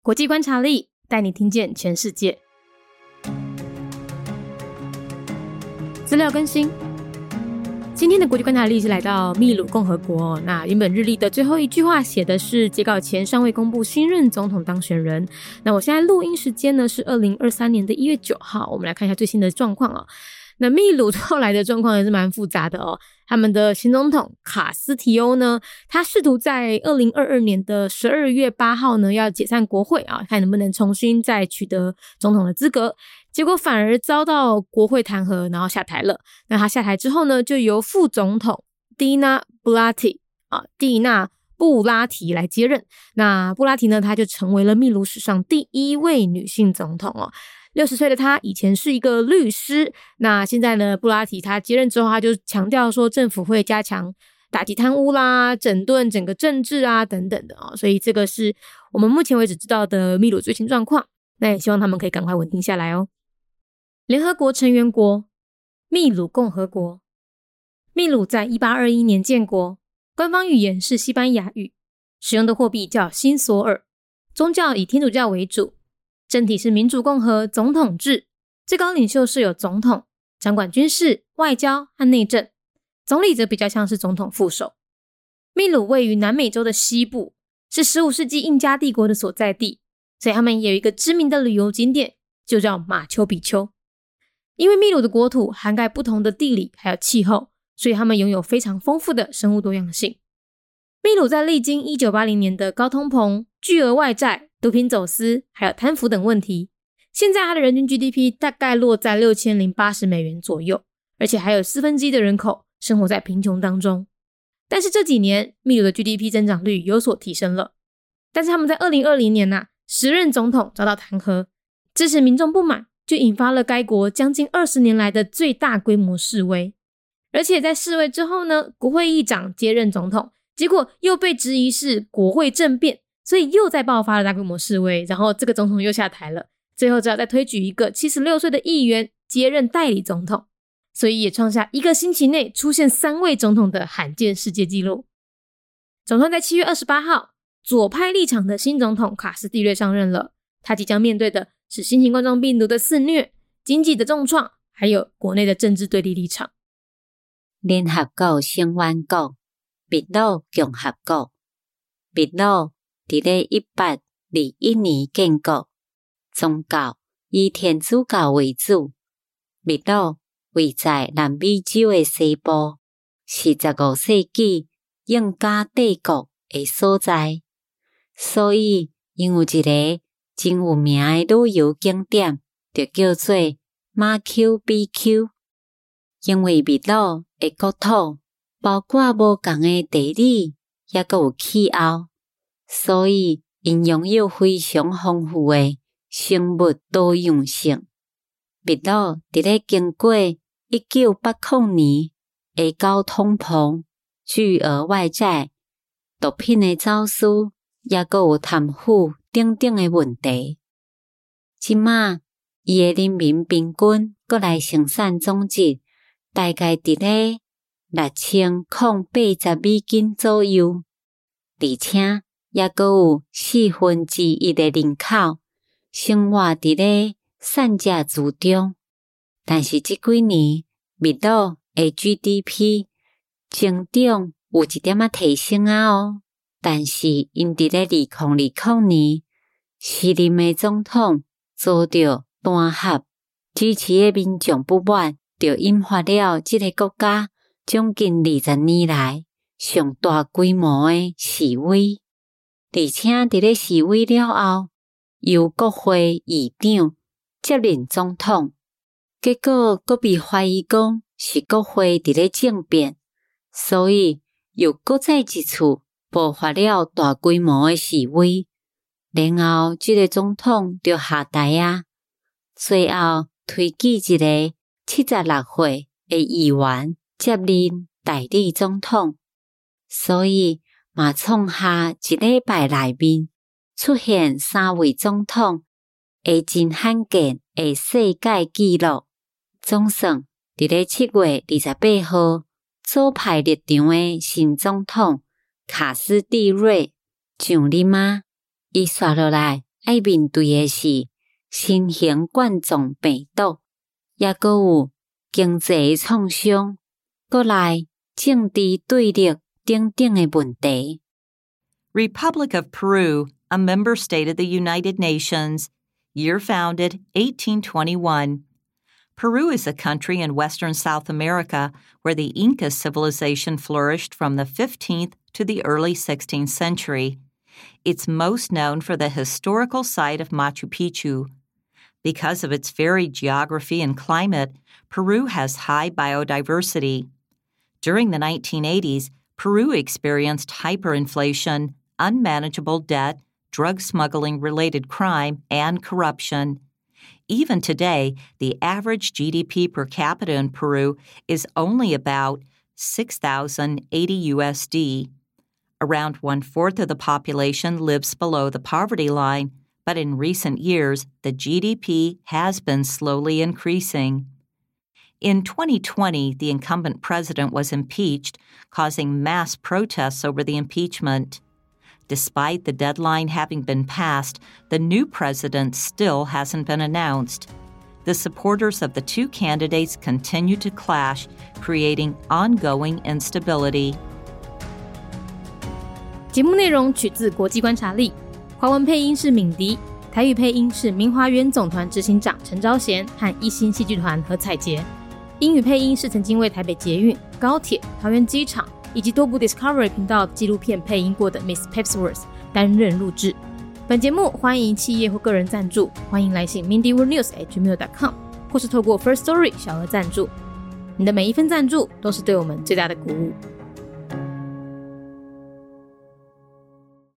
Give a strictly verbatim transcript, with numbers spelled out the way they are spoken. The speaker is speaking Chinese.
国际观察力带你听见全世界。资料更新，今天的国际观察力是来到秘鲁共和国。那原本日历的最后一句话写的是截稿前尚未公布新任总统当选人。那我现在录音时间呢是二零二三年的一月九号，我们来看一下最新的状况哦。那秘鲁后来的状况也是蛮复杂的哦。他们的新总统卡斯提欧呢，他试图在二零二二年的十二月八号呢要解散国会啊，看能不能重新再取得总统的资格。结果反而遭到国会弹劾，然后下台了。那他下台之后呢，就由副总统蒂娜布拉提啊，蒂娜布拉提来接任。那布拉提呢，他就成为了秘鲁史上第一位女性总统哦。六十岁的他以前是一个律师，那现在呢，布拉提他接任之后，他就强调说政府会加强打击贪污啦，整顿整个政治啊等等的哦。所以这个是我们目前为止知道的秘鲁最新状况。那也希望他们可以赶快稳定下来哦。联合国成员国秘鲁共和国。秘鲁在一八二一年建国，官方语言是西班牙语，使用的货币叫新索尔，宗教以天主教为主，政体是民主共和总统制，最高领袖是有总统，掌管军事、外交和内政，总理则比较像是总统副手。秘鲁位于南美洲的西部，是十五世纪印加帝国的所在地，所以他们也有一个知名的旅游景点，就叫马丘比丘。因为秘鲁的国土涵盖不同的地理还有气候，所以他们拥有非常丰富的生物多样性。秘鲁在历经一九八零年的高通膨、巨额外债、毒品走私还有贪腐等问题，现在它的人均 G D P 大概落在六千零八十美元左右，而且还有四分之一的人口生活在贫穷当中。但是这几年秘鲁的 G D P 增长率有所提升了，但是他们在二零二零年啊，时任总统遭到弹劾，支持民众不满，就引发了该国将近二十年来的最大规模示威。而且在示威之后呢，国会议长接任总统，结果又被质疑是国会政变，所以又再爆发了大规模示威，然后这个总统又下台了，最后只好再推举一个七十六岁的议员接任代理总统，所以也创下一个星期内出现三位总统的罕见世界纪录。总算在七月二十八号，左派立场的新总统卡斯蒂略上任了，他即将面对的是新型冠状病毒的肆虐、经济的重创，还有国内的政治对立立场。 联合国成员国秘鲁共和国。秘鲁伫咧一八二一年建国，宗教以天主教为主。秘鲁位在南美洲的西部，是十五世纪印加帝国的所在，所以因有一个真有名的旅游景点，就叫做马丘比丘。因为秘鲁的国土包括无同的地理，也阁有气候，所以因拥有非常丰富的生物多样性。秘鲁伫咧经过一九八零年的高通膨、巨额外债、毒品的走私，也阁有贪腐等等的问题。即马伊的人民平均国内生产总值大概伫咧六千零八十美金左右，而且也阁有四分之一的人口生活伫咧产者之中。但是这几年秘鲁的 G D P 增长有一点仔提升啊哦，但是因伫咧二零二零年时任的总统遭到弹劾，支持的民众不满，就引发了这个国家将近二十年来上大规模的示威，而且伫咧示威了后，由国会议长接任总统，结果阁被怀疑讲是国会伫咧政变，所以又搁再一次爆发了大规模的示威，然后这个总统就下台啊，最后推举一个七十六岁的议员接任代理总统，所以嘛创下一礼拜内面出现三位总统的真罕见的世界纪录。总算伫咧七月二十八号左派立场的新总统卡斯蒂瑞上任啊，伊刷落来要面对的是新型冠状病毒，也阁有经济创伤，阁来政治对立等等的问题。 Republic of Peru, a member state of the United Nations, year founded eighteen twenty-one. Peru is a country in western South America where the Inca civilization flourished from the fifteenth to the early sixteenth century. It's most known for the historical site of Machu Picchu. Because of its varied geography and climate, Peru has high biodiversity. During the nineteen eighties, Peru experienced hyperinflation, unmanageable debt, drug smuggling-related crime, and corruption. Even today, the average G D P per capita in Peru is only about six thousand eighty U S D. Around one-fourth of the population lives below the poverty line, but in recent years, the G D P has been slowly increasing. In twenty twenty, the incumbent president was impeached, causing mass protests over the impeachment. Despite the deadline having been passed, the new president still hasn't been announced. The supporters of the two candidates continue to clash, creating ongoing instability. 节目内容取自国际观察力，华文配音是敏迪，台语配音是明华园总团执行长陈昭贤和一心戏剧团何彩杰，英语配音是曾经为台北捷运、高铁、桃园机场以及多部 Discovery 频道纪录片配音过的 Miss Pepsworth 担任录制。本节目欢迎企业或个人赞助，欢迎来信 mindy world news at gmail dot com 或是透过 First Story 小额赞助。你的每一份赞助都是对我们最大的鼓舞。